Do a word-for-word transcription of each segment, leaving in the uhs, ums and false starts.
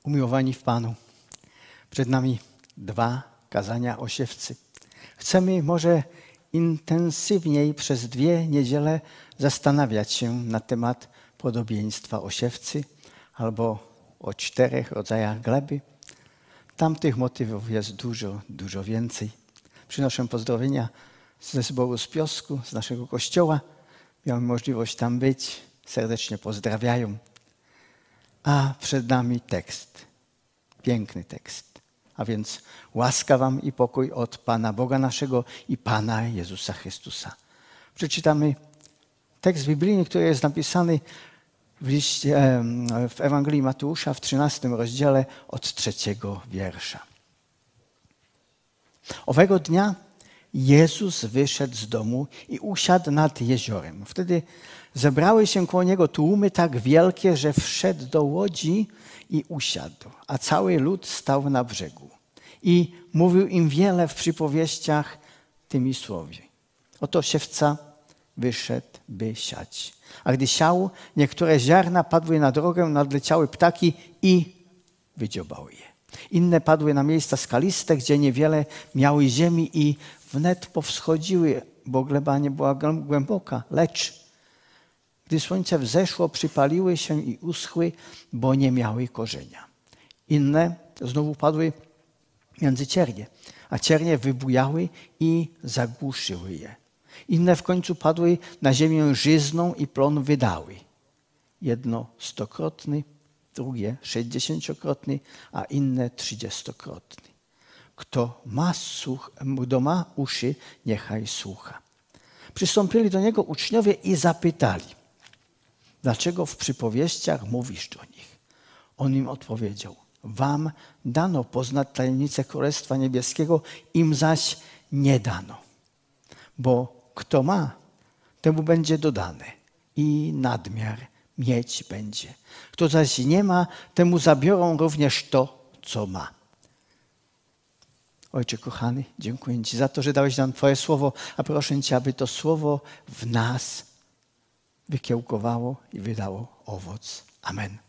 Umiłowani w Panu, przed nami dwa kazania o siewcy. Chcemy może intensywniej przez dwie niedziele zastanawiać się na temat podobieństwa o siewcy albo o czterech rodzajach gleby. Tamtych motywów jest dużo, dużo więcej. Przynoszę pozdrowienia ze zboru z Piosku, z naszego kościoła. Miałem możliwość tam być. Serdecznie pozdrawiają. A przed nami tekst. Piękny tekst. A więc łaska wam i pokój od Pana Boga naszego i Pana Jezusa Chrystusa. Przeczytamy tekst biblijny, który jest napisany w, liście, w Ewangelii Mateusza w trzynastym rozdziale od trzeciego wiersza. Owego dnia Jezus wyszedł z domu i usiadł nad jeziorem. Wtedy zebrały się koło Niego tłumy tak wielkie, że wszedł do łodzi i usiadł, a cały lud stał na brzegu. I mówił im wiele w przypowieściach tymi słowy. Oto siewca wyszedł, by siać. A gdy siał, niektóre ziarna padły na drogę, nadleciały ptaki i wydziobały je. Inne padły na miejsca skaliste, gdzie niewiele miały ziemi i wnet powschodziły, bo gleba nie była głęboka. Lecz gdy słońce wzeszło, przypaliły się i uschły, bo nie miały korzenia. Inne znowu padły między ciernie, a ciernie wybujały i zagłuszyły je. Inne w końcu padły na ziemię żyzną i plon wydały. Jedno stokrotny, drugie sześćdziesięciokrotny, a inne trzydziestokrotny. Kto ma, słuch, kto ma uszy, niechaj słucha. Przystąpili do Niego uczniowie i zapytali, dlaczego w przypowieściach mówisz do nich? On im odpowiedział, wam dano poznać tajemnicę Królestwa Niebieskiego, im zaś nie dano. Bo kto ma, temu będzie dodane i nadmiar mieć będzie. Kto zaś nie ma, temu zabiorą również to, co ma. Ojcze kochany, dziękuję Ci za to, że dałeś nam Twoje słowo, a proszę Cię, aby to słowo w nas wykiełkowało i wydało owoc. Amen.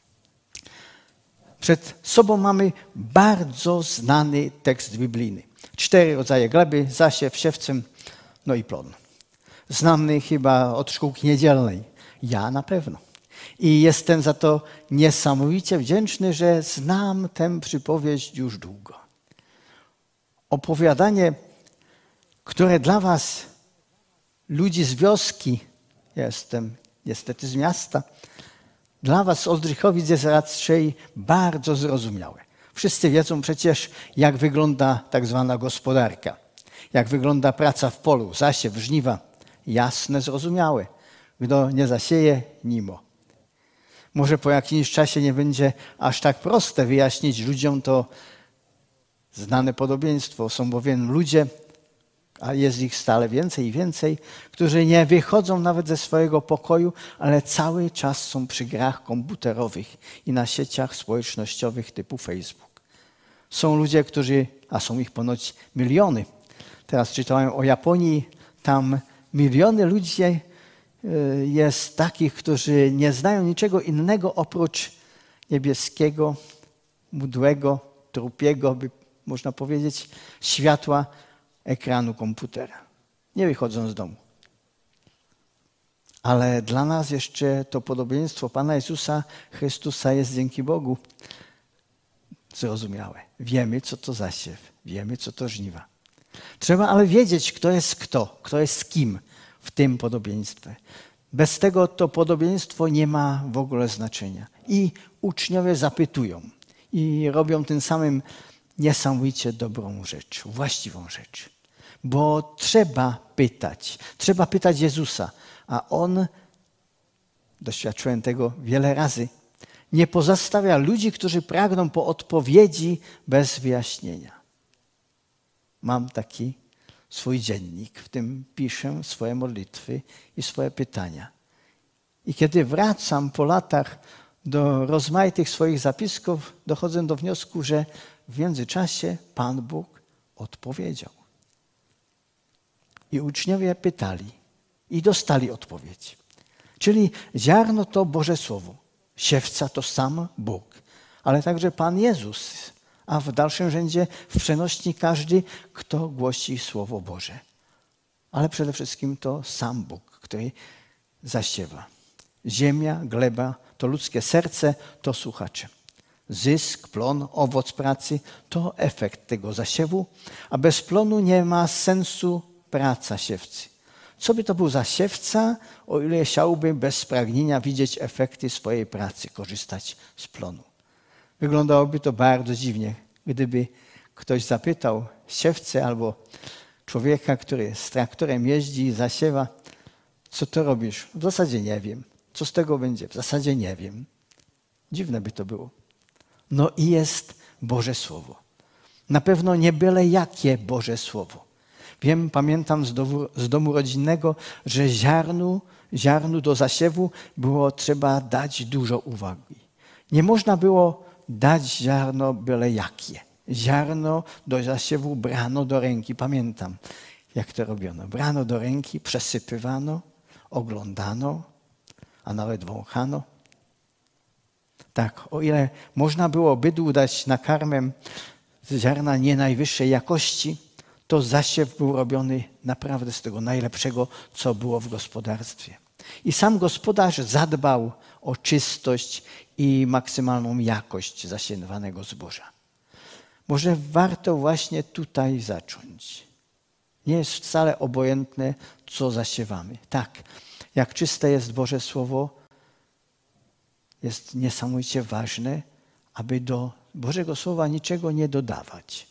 Przed sobą mamy bardzo znany tekst biblijny. Cztery rodzaje gleby, zasiew, siewcem, no i plon. Znany chyba od szkółki niedzielnej. Ja na pewno. I jestem za to niesamowicie wdzięczny, że znam tę przypowieść już długo. Opowiadanie, które dla was, ludzi z wioski, jestem niestety z miasta, dla was z Oldrzychowic jest raczej bardzo zrozumiałe. Wszyscy wiedzą przecież, jak wygląda tak zwana gospodarka. Jak wygląda praca w polu, zasiew, żniwa. Jasne, zrozumiałe. Kto nie zasieje, nimo. Może po jakimś czasie nie będzie aż tak proste wyjaśnić ludziom to znane podobieństwo. Są bowiem ludzie, a jest ich stale więcej i więcej, którzy nie wychodzą nawet ze swojego pokoju, ale cały czas są przy grach komputerowych i na sieciach społecznościowych typu Facebook. Są ludzie, którzy, a są ich ponoć miliony. Teraz czytałem o Japonii, tam miliony ludzi jest takich, którzy nie znają niczego innego oprócz niebieskiego, mdłego, trupiego, by można powiedzieć, światła ekranu komputera. Nie wychodzą z domu. Ale dla nas jeszcze to podobieństwo Pana Jezusa Chrystusa jest dzięki Bogu zrozumiałe. Wiemy, co to zasiew. Wiemy, co to żniwa. Trzeba ale wiedzieć, kto jest kto, kto jest z kim w tym podobieństwie. Bez tego to podobieństwo nie ma w ogóle znaczenia. I uczniowie zapytują i robią tym samym niesamowicie dobrą rzecz, właściwą rzecz. Bo trzeba pytać, trzeba pytać Jezusa, a On, doświadczyłem tego wiele razy, nie pozostawia ludzi, którzy pragną po odpowiedzi bez wyjaśnienia. Mam taki swój dziennik, w tym piszę swoje modlitwy i swoje pytania. I kiedy wracam po latach do rozmaitych swoich zapisków, dochodzę do wniosku, że w międzyczasie Pan Bóg odpowiedział. I uczniowie pytali i dostali odpowiedź. Czyli ziarno to Boże Słowo, siewca to sam Bóg, ale także Pan Jezus, a w dalszym rzędzie w przenośni każdy, kto głosi Słowo Boże. Ale przede wszystkim to sam Bóg, który zasiewa. Ziemia, gleba, to ludzkie serce, to słuchacze. Zysk, plon, owoc pracy to efekt tego zasiewu, a bez plonu nie ma sensu praca siewcy. Co by to był za siewca, o ile chciałby bez pragnienia widzieć efekty swojej pracy, korzystać z plonu? Wyglądałoby to bardzo dziwnie, gdyby ktoś zapytał siewcę albo człowieka, który z traktorem jeździ i zasiewa, co to robisz? W zasadzie nie wiem. Co z tego będzie? W zasadzie nie wiem. Dziwne by to było. No i jest Boże Słowo. Na pewno nie byle jakie Boże Słowo. Wiem, pamiętam z domu, z domu rodzinnego, że ziarnu, ziarnu do zasiewu było trzeba dać dużo uwagi. Nie można było dać ziarno byle jakie. Ziarno do zasiewu brano do ręki. Pamiętam, jak to robiono. Brano do ręki, przesypywano, oglądano, a nawet wąchano. Tak, o ile można było bydłu dać na karmę z ziarna nie najwyższej jakości, to zasiew był robiony naprawdę z tego najlepszego, co było w gospodarstwie. I sam gospodarz zadbał o czystość i maksymalną jakość zasiewanego zboża. Może warto właśnie tutaj zacząć. Nie jest wcale obojętne, co zasiewamy. Tak, jak czyste jest Boże Słowo, jest niesamowicie ważne, aby do Bożego Słowa niczego nie dodawać.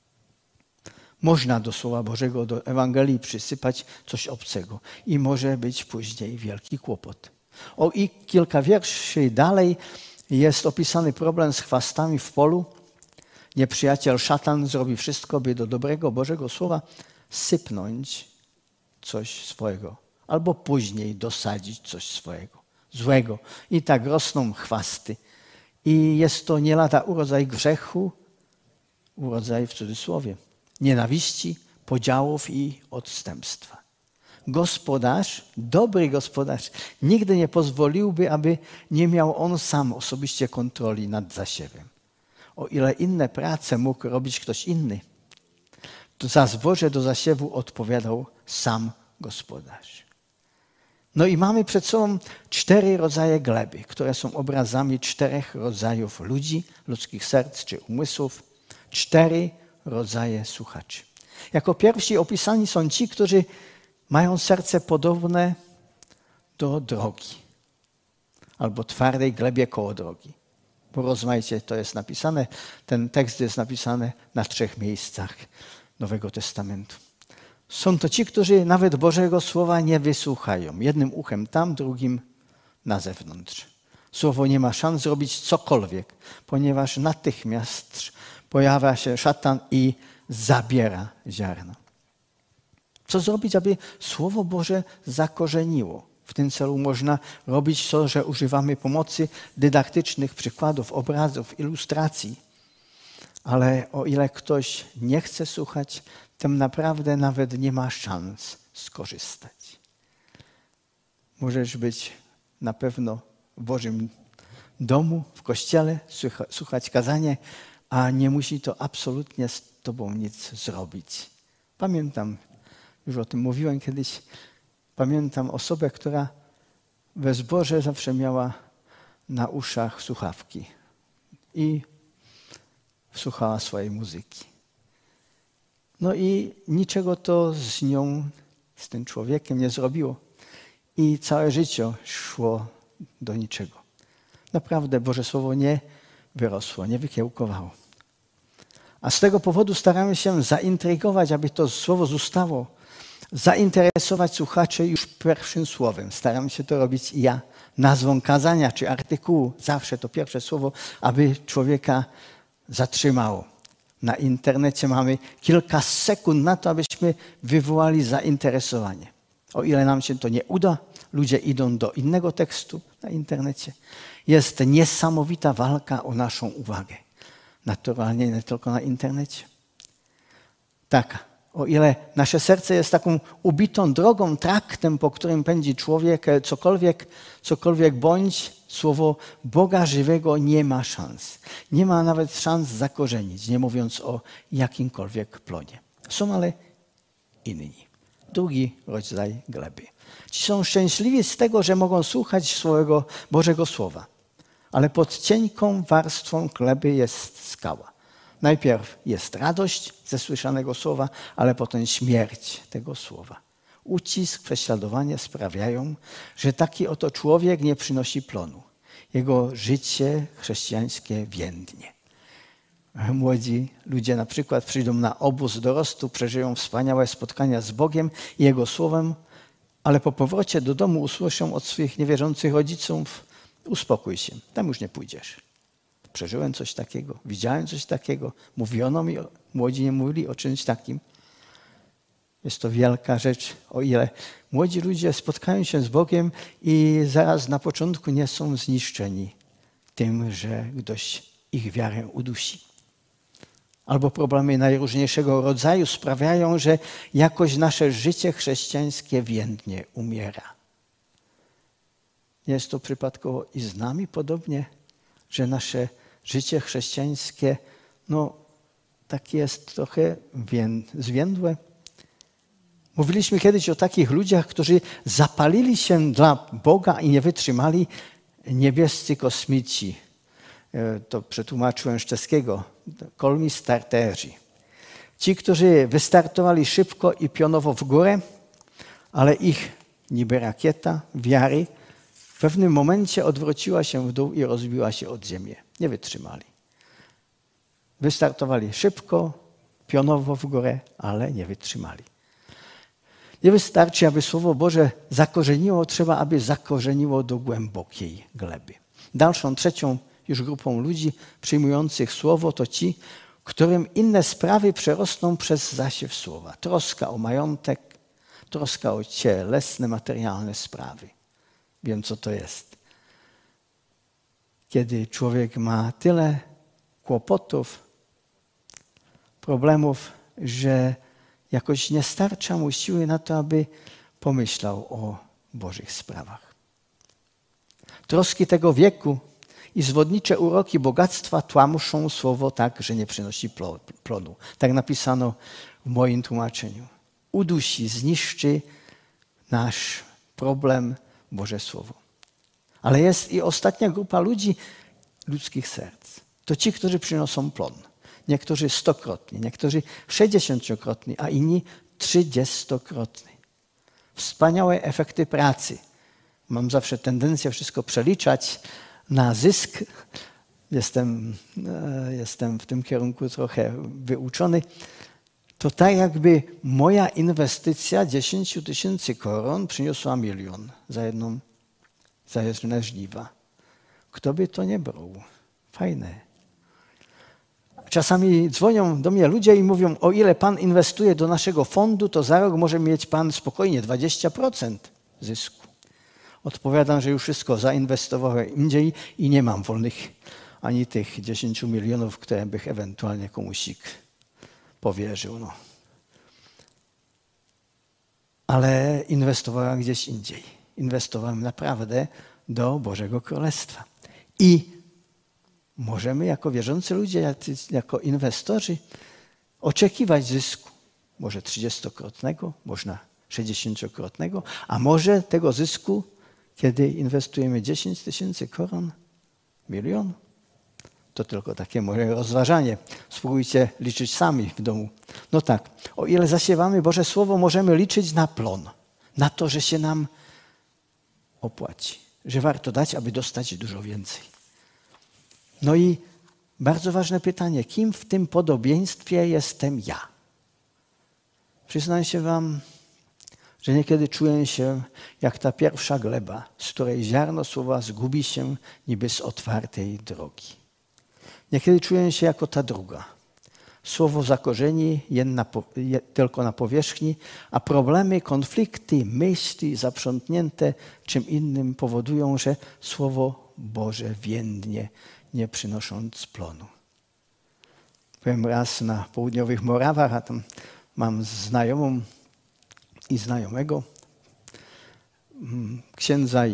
Można do Słowa Bożego, do Ewangelii przysypać coś obcego i może być później wielki kłopot. O i kilka wierszy dalej jest opisany problem z chwastami w polu. Nieprzyjaciel szatan zrobi wszystko, by do dobrego Bożego Słowa sypnąć coś swojego, albo później dosadzić coś swojego, złego. I tak rosną chwasty. I jest to nie lada urodzaj grzechu, urodzaj w cudzysłowie, nienawiści, podziałów i odstępstwa. Gospodarz, dobry gospodarz, nigdy nie pozwoliłby, aby nie miał on sam osobiście kontroli nad zasiewem. O ile inne prace mógł robić ktoś inny, to za zboże do zasiewu odpowiadał sam gospodarz. No i mamy przed sobą cztery rodzaje gleby, które są obrazami czterech rodzajów ludzi, ludzkich serc czy umysłów. Cztery rodzaje słuchaczy. Jako pierwsi opisani są ci, którzy mają serce podobne do drogi albo twardej glebie koło drogi. Bo rozmaicie to jest napisane, ten tekst jest napisany na trzech miejscach Nowego Testamentu. Są to ci, którzy nawet Bożego Słowa nie wysłuchają. Jednym uchem tam, drugim na zewnątrz. Słowo nie ma szans zrobić cokolwiek, ponieważ natychmiast pojawia się szatan i zabiera ziarno. Co zrobić, aby Słowo Boże zakorzeniło? W tym celu można robić to, że używamy pomocy dydaktycznych przykładów, obrazów, ilustracji. Ale o ile ktoś nie chce słuchać, tym naprawdę nawet nie ma szans skorzystać. Możesz być na pewno w Bożym domu, w kościele, słuchać kazania, a nie musi to absolutnie z tobą nic zrobić. Pamiętam, już o tym mówiłem kiedyś, pamiętam osobę, która we zborze zawsze miała na uszach słuchawki i słuchała swojej muzyki. No i niczego to z nią, z tym człowiekiem nie zrobiło. I całe życie szło do niczego. Naprawdę Boże Słowo nie wyrosło, nie wykiełkowało. A z tego powodu staramy się zaintrygować, aby to słowo zostało, zainteresować słuchaczy już pierwszym słowem. Staram się to robić i ja. Nazwą kazania czy artykułu, zawsze to pierwsze słowo, aby człowieka zatrzymało. Na internecie mamy kilka sekund na to, abyśmy wywołali zainteresowanie. O ile nam się to nie uda, ludzie idą do innego tekstu na internecie. Jest niesamowita walka o naszą uwagę. Naturalnie nie tylko na internecie. Tak, o ile nasze serce jest taką ubitą drogą, traktem, po którym pędzi człowiek, cokolwiek, cokolwiek bądź, Słowo Boga żywego nie ma szans. Nie ma nawet szans zakorzenić, nie mówiąc o jakimkolwiek plonie. Są ale inni. Drugi rodzaj gleby. Ci są szczęśliwi z tego, że mogą słuchać swojego Bożego Słowa. Ale pod cienką warstwą gleby jest skała. Najpierw jest radość ze słyszanego słowa, ale potem śmierć tego słowa. Ucisk, prześladowanie sprawiają, że taki oto człowiek nie przynosi plonu. Jego życie chrześcijańskie więdnie. Młodzi ludzie na przykład przyjdą na obóz dorostu, przeżyją wspaniałe spotkania z Bogiem i Jego Słowem, ale po powrocie do domu usłyszą od swoich niewierzących rodziców: uspokój się, tam już nie pójdziesz. Przeżyłem coś takiego, widziałem coś takiego, mówiono mi, młodzi nie mówili o czymś takim. Jest to wielka rzecz, o ile młodzi ludzie spotkają się z Bogiem i zaraz na początku nie są zniszczeni tym, że ktoś ich wiarę udusi. Albo problemy najróżniejszego rodzaju sprawiają, że jakoś nasze życie chrześcijańskie więdnie, umiera. Nie jest to przypadkowo i z nami podobnie, że nasze życie chrześcijańskie, no, tak jest trochę zwiędłe. Mówiliśmy kiedyś o takich ludziach, którzy zapalili się dla Boga i nie wytrzymali. Niebiescy kosmici. To przetłumaczyłem z czeskiego. Kolmi starterzy. Ci, którzy wystartowali szybko i pionowo w górę, ale ich niby rakieta wiary w pewnym momencie odwróciła się w dół i rozbiła się od ziemi. Nie wytrzymali. Wystartowali szybko, pionowo w górę, ale nie wytrzymali. Nie wystarczy, aby Słowo Boże zakorzeniło, trzeba, aby zakorzeniło do głębokiej gleby. Dalszą, trzecią już grupą ludzi przyjmujących Słowo to ci, którym inne sprawy przerosną przez zasiew Słowa. Troska o majątek, troska o cielesne, materialne sprawy. Wiem, co to jest. Kiedy człowiek ma tyle kłopotów, problemów, że jakoś nie starcza mu siły na to, aby pomyślał o Bożych sprawach. Troski tego wieku i zwodnicze uroki bogactwa tłamuszą słowo tak, że nie przynosi plonu. Tak napisano w moim tłumaczeniu. Udusi, zniszczy nasz problem Boże Słowo. Ale jest i ostatnia grupa ludzi, ludzkich serc. To ci, którzy przynoszą plon. Niektórzy stokrotnie, niektórzy sześćdziesięciokrotnie, a inni trzydziestokrotnie. Wspaniałe efekty pracy. Mam zawsze tendencję wszystko przeliczać na zysk. Jestem, jestem w tym kierunku trochę wyuczony. To tak jakby moja inwestycja dziesięć tysięcy koron przyniosła milion za jedną, za jedne żniwa. Kto by to nie brał? Fajne. Czasami dzwonią do mnie ludzie i mówią, o ile pan inwestuje do naszego fondu, to za rok może mieć pan spokojnie dwadzieścia procent zysku. Odpowiadam, że już wszystko zainwestowałem indziej i nie mam wolnych ani tych dziesięciu milionów, które bych ewentualnie komuś powierzył. No. Ale inwestowałem gdzieś indziej. Inwestowałem naprawdę do Bożego Królestwa. I możemy jako wierzący ludzie, jako inwestorzy oczekiwać zysku. Może trzydziestokrotnego, można sześćdziesięciokrotnego, a może tego zysku, kiedy inwestujemy dziesięć tysięcy koron, milion. To tylko takie moje rozważanie. Spróbujcie liczyć sami w domu. No tak, o ile zasiewamy Boże Słowo, możemy liczyć na plon. Na to, że się nam opłaci. Że warto dać, aby dostać dużo więcej. No i bardzo ważne pytanie, kim w tym podobieństwie jestem ja? Przyznaję się wam, że niekiedy czuję się jak ta pierwsza gleba, z której ziarno słowa zgubi się niby z otwartej drogi. Niekiedy czuję się jako ta druga. Słowo zakorzeni jedna, tylko na powierzchni, a problemy, konflikty, myśli zaprzątnięte czym innym powodują, że Słowo Boże więdnie, nie przynosząc plonu. Byłem raz na południowych Morawach, a tam mam znajomą i znajomego, księdza i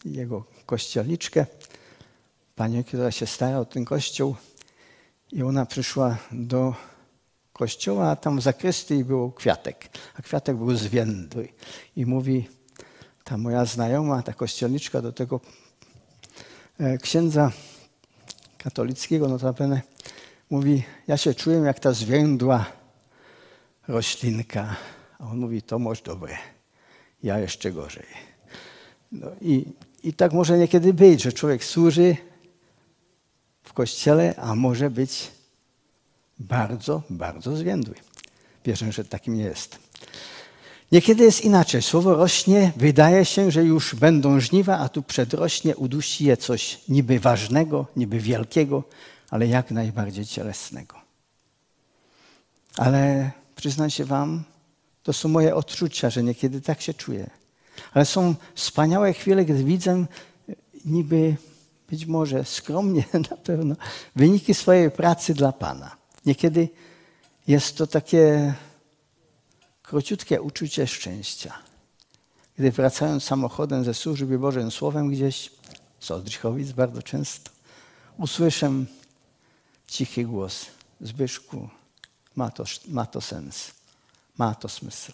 jego kościelniczkę, panią, która się stara o ten kościół i ona przyszła do kościoła, a tam w zakrystii był kwiatek, a kwiatek był zwiędły. I mówi ta moja znajoma, ta kościelniczka do tego księdza katolickiego notabene, mówi, ja się czuję jak ta zwiędła roślinka. A on mówi, to może dobre, ja jeszcze gorzej. No i, i tak może niekiedy być, że człowiek służy w kościele, a może być bardzo, bardzo zwiędły. Wierzę, że takim nie jest. Niekiedy jest inaczej. Słowo rośnie, wydaje się, że już będą żniwa, a tu przedrośnie, udusi je coś niby ważnego, niby wielkiego, ale jak najbardziej cielesnego. Ale przyznam się wam, to są moje odczucia, że niekiedy tak się czuję. Ale są wspaniałe chwile, gdy widzę niby, być może skromnie na pewno, wyniki swojej pracy dla Pana. Niekiedy jest to takie króciutkie uczucie szczęścia. Gdy wracając samochodem ze służby Bożym Słowem gdzieś, z Oldrzychowic bardzo często, usłyszę cichy głos. Zbyszku, ma to, ma to sens, ma to smysł.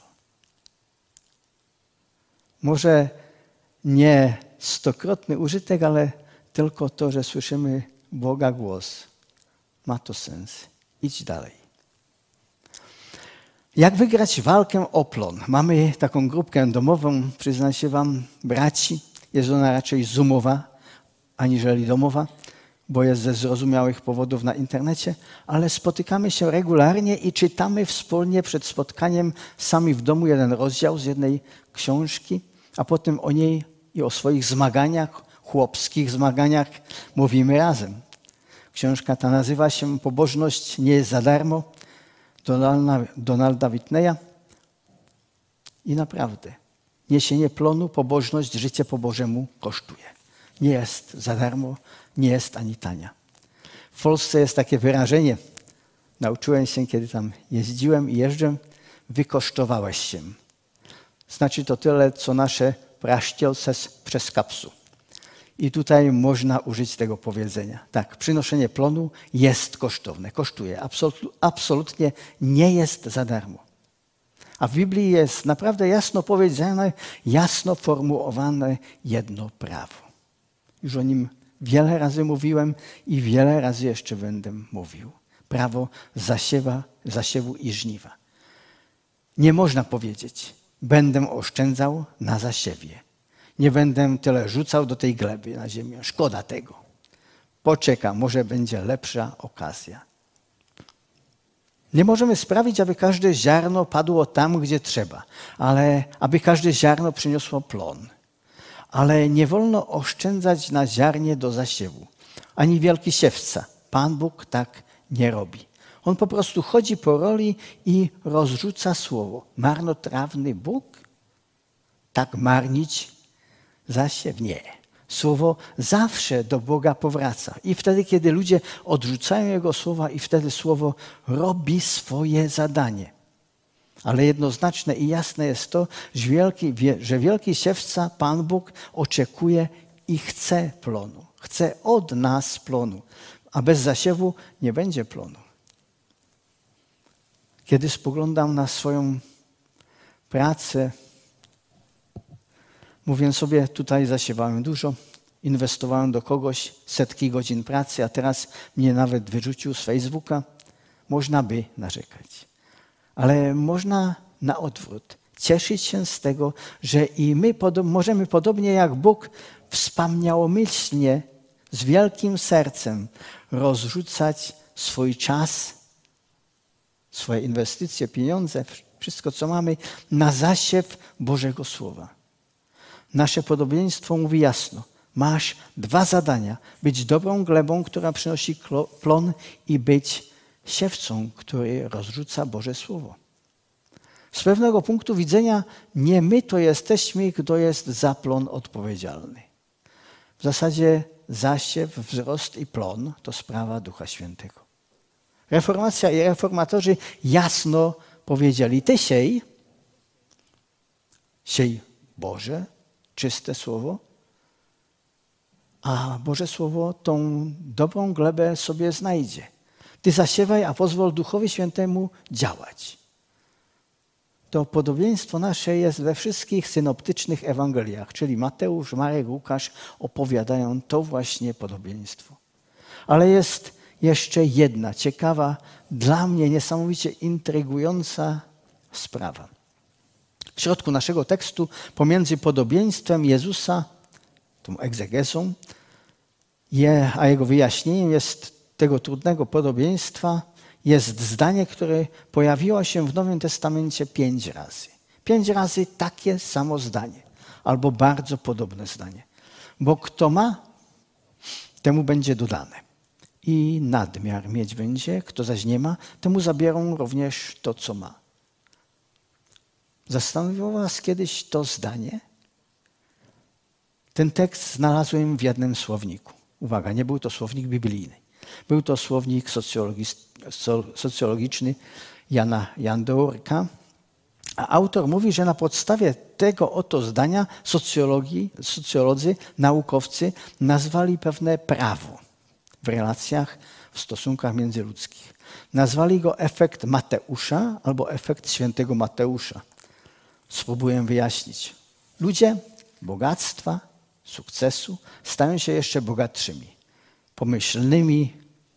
Może nie stokrotny użytek, ale tylko to, że słyszymy Boga głos. Ma to sens. Idź dalej. Jak wygrać walkę o plon? Mamy taką grupkę domową, przyznam się wam, braci. Jest ona raczej zoomowa, aniżeli domowa, bo jest ze zrozumiałych powodów na internecie, ale spotykamy się regularnie i czytamy wspólnie przed spotkaniem sami w domu jeden rozdział z jednej książki, a potem o niej i o swoich zmaganiach, chłopskich zmaganiach mówimy razem. Książka ta nazywa się Pobożność nie jest za darmo, Donalda, Donalda Whitneya. I naprawdę, niesienie plonu, pobożność, życie po Bożemu kosztuje. Nie jest za darmo, nie jest ani tania. W Polsce jest takie wyrażenie, nauczyłem się, kiedy tam jeździłem i jeżdżę, wykosztowałeś się. Znaczy to tyle, co nasze praszcielce przez kapsu. I tutaj można użyć tego powiedzenia. Tak, przynoszenie plonu jest kosztowne, kosztuje. Absolutnie nie jest za darmo. A w Biblii jest naprawdę jasno powiedziane, jasno formułowane jedno prawo. Już o nim wiele razy mówiłem i wiele razy jeszcze będę mówił. Prawo zasiewa, zasiewu i żniwa. Nie można powiedzieć, będę oszczędzał na zasiewie. Nie będę tyle rzucał do tej gleby na ziemię. Szkoda tego. Poczekam, może będzie lepsza okazja. Nie możemy sprawić, aby każde ziarno padło tam, gdzie trzeba, ale aby każde ziarno przyniosło plon. Ale nie wolno oszczędzać na ziarnie do zasiewu. Ani wielki siewca. Pan Bóg tak nie robi. On po prostu chodzi po roli i rozrzuca słowo. Marnotrawny Bóg? Tak marnić zasiew? Nie. Słowo zawsze do Boga powraca. I wtedy, kiedy ludzie odrzucają Jego słowa, i wtedy słowo robi swoje zadanie. Ale jednoznaczne i jasne jest to, że wielki, że wielki siewca, Pan Bóg, oczekuje i chce plonu. Chce od nas plonu. A bez zasiewu nie będzie plonu. Kiedy spoglądam na swoją pracę, mówię sobie, tutaj zasiewałem dużo, inwestowałem do kogoś setki godzin pracy, a teraz mnie nawet wyrzucił z Facebooka. Można by narzekać. Ale można na odwrót cieszyć się z tego, że i my podob- możemy podobnie jak Bóg wspaniałomyślnie, z wielkim sercem rozrzucać swój czas, swoje inwestycje, pieniądze, wszystko co mamy na zasiew Bożego Słowa. Nasze podobieństwo mówi jasno. Masz dwa zadania. Być dobrą glebą, która przynosi plon, i być siewcą, który rozrzuca Boże Słowo. Z pewnego punktu widzenia nie my to jesteśmy, kto jest za plon odpowiedzialny. W zasadzie zasiew, wzrost i plon to sprawa Ducha Świętego. Reformacja i reformatorzy jasno powiedzieli, ty siej, siej Boże, czyste Słowo, a Boże Słowo tą dobrą glebę sobie znajdzie. Ty zasiewaj, a pozwól Duchowi Świętemu działać. To podobieństwo nasze jest we wszystkich synoptycznych Ewangeliach, czyli Mateusz, Marek, Łukasz opowiadają to właśnie podobieństwo. Ale jest jeszcze jedna ciekawa, dla mnie niesamowicie intrygująca sprawa. W środku naszego tekstu pomiędzy podobieństwem Jezusa, tą egzegezą, je, a jego wyjaśnieniem jest tego trudnego podobieństwa, jest zdanie, które pojawiło się w Nowym Testamencie pięć razy. Pięć razy takie samo zdanie, albo bardzo podobne zdanie. Bo kto ma, temu będzie dodane. I nadmiar mieć będzie, kto zaś nie ma, temu zabiorą również to, co ma. Zastanowiło was kiedyś to zdanie? Ten tekst znalazłem w jednym słowniku. Uwaga, nie był to słownik biblijny. Był to słownik socjologiczny Jana Jandorka. A autor mówi, że na podstawie tego oto zdania socjologii, socjolodzy, naukowcy nazwali pewne prawo w relacjach, w stosunkach międzyludzkich. Nazwali go efekt Mateusza albo efekt świętego Mateusza. Spróbuję wyjaśnić. Ludzie bogactwa, sukcesu stają się jeszcze bogatszymi, pomyślnymi,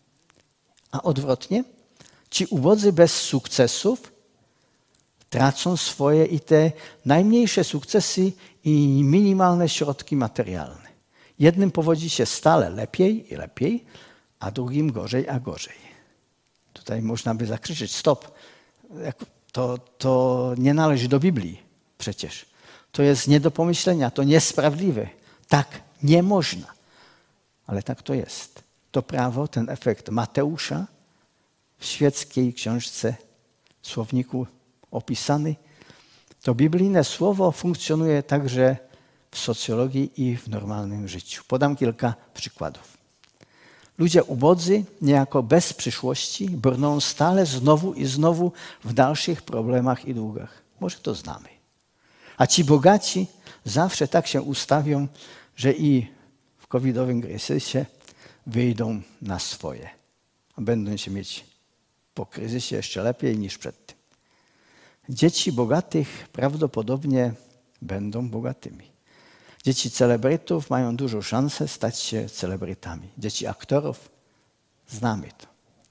a odwrotnie ci ubodzy bez sukcesów tracą swoje i te najmniejsze sukcesy i minimalne środki materialne. Jednym powodzi się stale lepiej i lepiej, a drugim gorzej a gorzej. Tutaj można by zakrzyczeć stop. To, to nie należy do Biblii przecież. To jest nie do pomyślenia, to niesprawiedliwe. Tak nie można. Ale tak to jest. To prawo, ten efekt Mateusza w świeckiej książce, słowniku opisany, to biblijne słowo funkcjonuje także w socjologii i w normalnym życiu. Podam kilka przykładów. Ludzie ubodzy, niejako bez przyszłości, brną stale znowu i znowu w dalszych problemach i długach. Może to znamy. A ci bogaci zawsze tak się ustawią, że i w covidowym kryzysie wyjdą na swoje. A będą się mieć po kryzysie jeszcze lepiej niż przed tym. Dzieci bogatych prawdopodobnie będą bogatymi. Dzieci celebrytów mają dużą szansę stać się celebrytami. Dzieci aktorów, znamy to.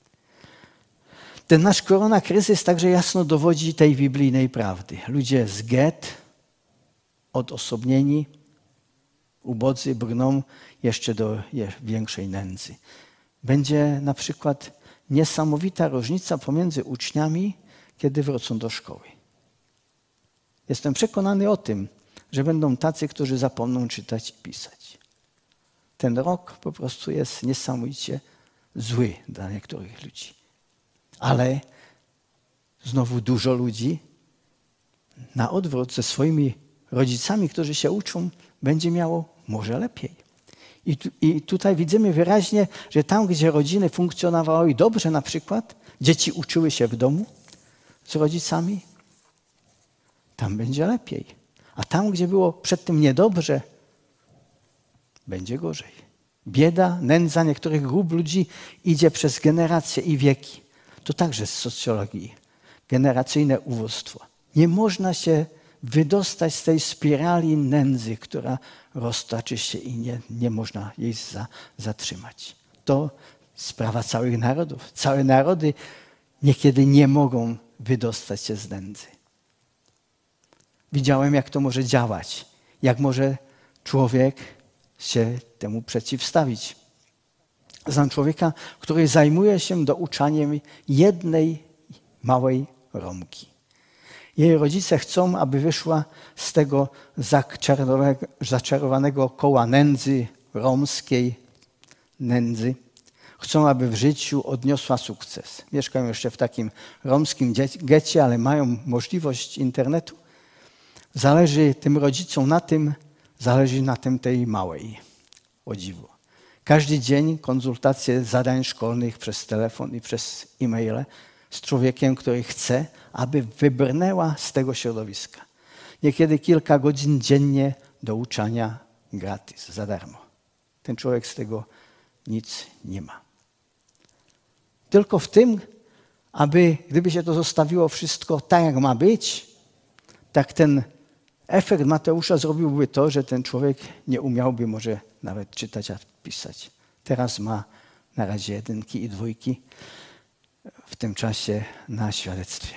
Ten nasz koronakryzys także jasno dowodzi tej biblijnej prawdy. Ludzie z get, odosobnieni, ubodzy brną jeszcze do większej nędzy. Będzie na przykład niesamowita różnica pomiędzy uczniami, kiedy wrócą do szkoły. Jestem przekonany o tym, że będą tacy, którzy zapomną czytać i pisać. Ten rok po prostu jest niesamowicie zły dla niektórych ludzi. Ale znowu dużo ludzi na odwrót ze swoimi rodzicami, którzy się uczą, będzie miało może lepiej. I, tu, I tutaj widzimy wyraźnie, że tam, gdzie rodziny funkcjonowały dobrze na przykład, dzieci uczyły się w domu z rodzicami, tam będzie lepiej. A tam, gdzie było przedtem niedobrze, będzie gorzej. Bieda, nędza niektórych grup ludzi idzie przez generacje i wieki. To także z socjologii. Generacyjne ubóstwo. Nie można się wydostać z tej spirali nędzy, która roztoczy się i nie, nie można jej za, zatrzymać. To sprawa całych narodów. Całe narody niekiedy nie mogą wydostać się z nędzy. Widziałem, jak to może działać, jak może człowiek się temu przeciwstawić. Znam człowieka, który zajmuje się douczaniem jednej małej Romki. Jej rodzice chcą, aby wyszła z tego zaczarowanego koła nędzy, romskiej nędzy. Chcą, aby w życiu odniosła sukces. Mieszkają jeszcze w takim romskim getcie, ale mają możliwość internetu. Zależy tym rodzicom na tym, zależy na tym tej małej, o dziwo. Każdy dzień konsultacje zadań szkolnych przez telefon i przez e-maile z człowiekiem, który chce, aby wybrnęła z tego środowiska. Niekiedy kilka godzin dziennie douczania gratis, za darmo. Ten człowiek z tego nic nie ma. Tylko w tym, aby gdyby się to zostawiło wszystko tak, jak ma być, tak ten efekt Mateusza zrobiłby to, że ten człowiek nie umiałby może nawet czytać, a pisać. Teraz ma na razie jedynki i dwójki w tym czasie na świadectwie.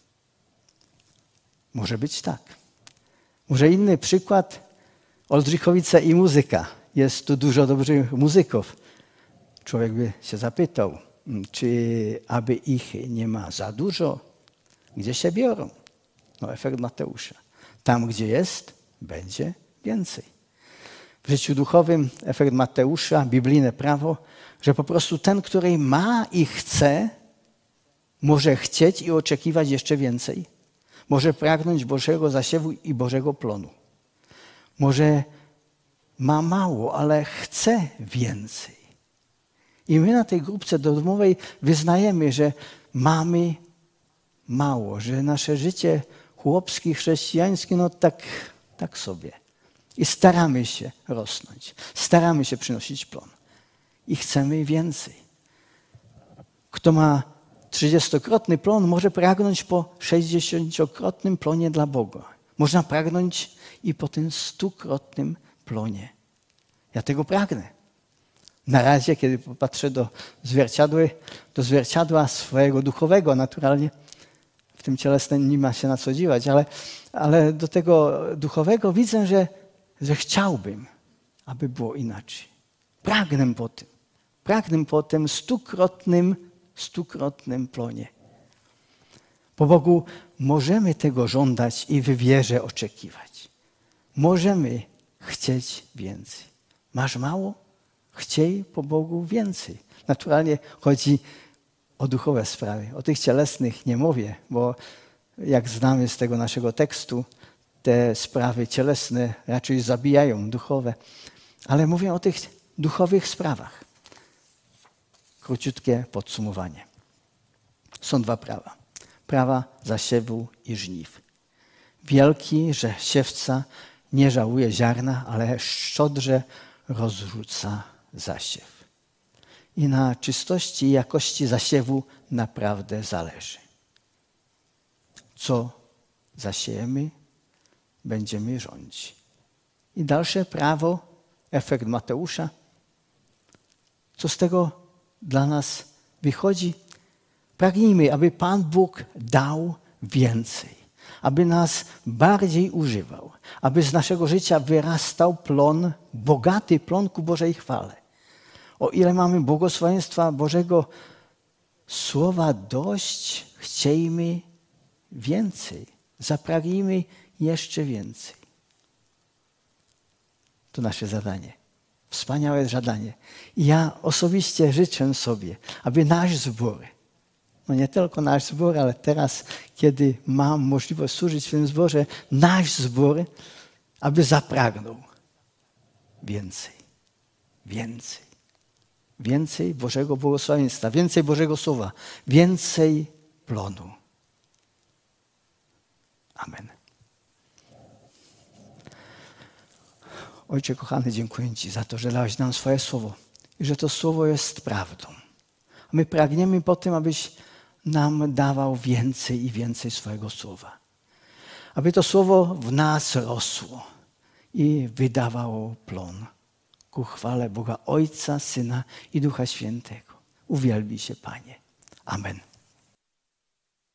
Może być tak. Może inny przykład, Oldrzychowice i muzyka. Jest tu dużo dobrych muzyków. Człowiek by się zapytał, czy aby ich nie ma za dużo? Gdzie się biorą? No efekt Mateusza. Tam, gdzie jest, będzie więcej. W życiu duchowym efekt Mateusza, biblijne prawo, że po prostu ten, który ma i chce, może chcieć i oczekiwać jeszcze więcej. Może pragnąć Bożego zasiewu i Bożego plonu. Może ma mało, ale chce więcej. I my na tej grupce domowej wyznajemy, że mamy mało, że nasze życie chłopskie, chrześcijańskie, no tak, tak sobie. I staramy się rosnąć, staramy się przynosić plon. I chcemy więcej. Kto ma trzydziestokrotny plon, może pragnąć po sześćdziesięciokrotnym plonie dla Boga. Można pragnąć i po tym stukrotnym plonie. Ja tego pragnę. Na razie, kiedy popatrzę do zwierciadła, do zwierciadła swojego duchowego, naturalnie w tym cielesnym nie ma się na co dziwać, ale, ale do tego duchowego widzę, że, że chciałbym, aby było inaczej. Pragnę po tym. Pragnę po tym stukrotnym, stukrotnym plonie. Po Bogu możemy tego żądać i w wierze oczekiwać. Możemy chcieć więcej. Masz mało? Chciej po Bogu więcej. Naturalnie chodzi o duchowe sprawy. O tych cielesnych nie mówię, bo jak znamy z tego naszego tekstu, te sprawy cielesne raczej zabijają duchowe. Ale mówię o tych duchowych sprawach. Króciutkie podsumowanie. Są dwa prawa. Prawa zasiewu i żniw. Wielki, że siewca nie żałuje ziarna, ale szczodrze rozrzuca zasiew. I na czystości i jakości zasiewu naprawdę zależy. Co zasiejemy, będziemy rządzić. I dalsze prawo, efekt Mateusza. Co z tego dla nas wychodzi? Pragnijmy, aby Pan Bóg dał więcej. Aby nas bardziej używał. Aby z naszego życia wyrastał plon, bogaty plon ku Bożej chwale. O ile mamy błogosławieństwa Bożego Słowa dość, chciejmy więcej. Zapragnijmy jeszcze więcej. To nasze zadanie. Wspaniałe zadanie. I ja osobiście życzę sobie, aby nasz zbór, no nie tylko nasz zbór, ale teraz, kiedy mam możliwość służyć w tym zborze, nasz zbór, aby zapragnął więcej. Więcej. Więcej Bożego błogosławieństwa, więcej Bożego Słowa, więcej plonu. Amen. Ojcze kochany, dziękuję Ci za to, że dałeś nam swoje Słowo i że to Słowo jest prawdą. A my pragniemy po tym, abyś nam dawał więcej i więcej swojego Słowa. Aby to Słowo w nas rosło i wydawało plon ku chwale Boga Ojca, Syna i Ducha Świętego. Uwielbi się, Panie. Amen.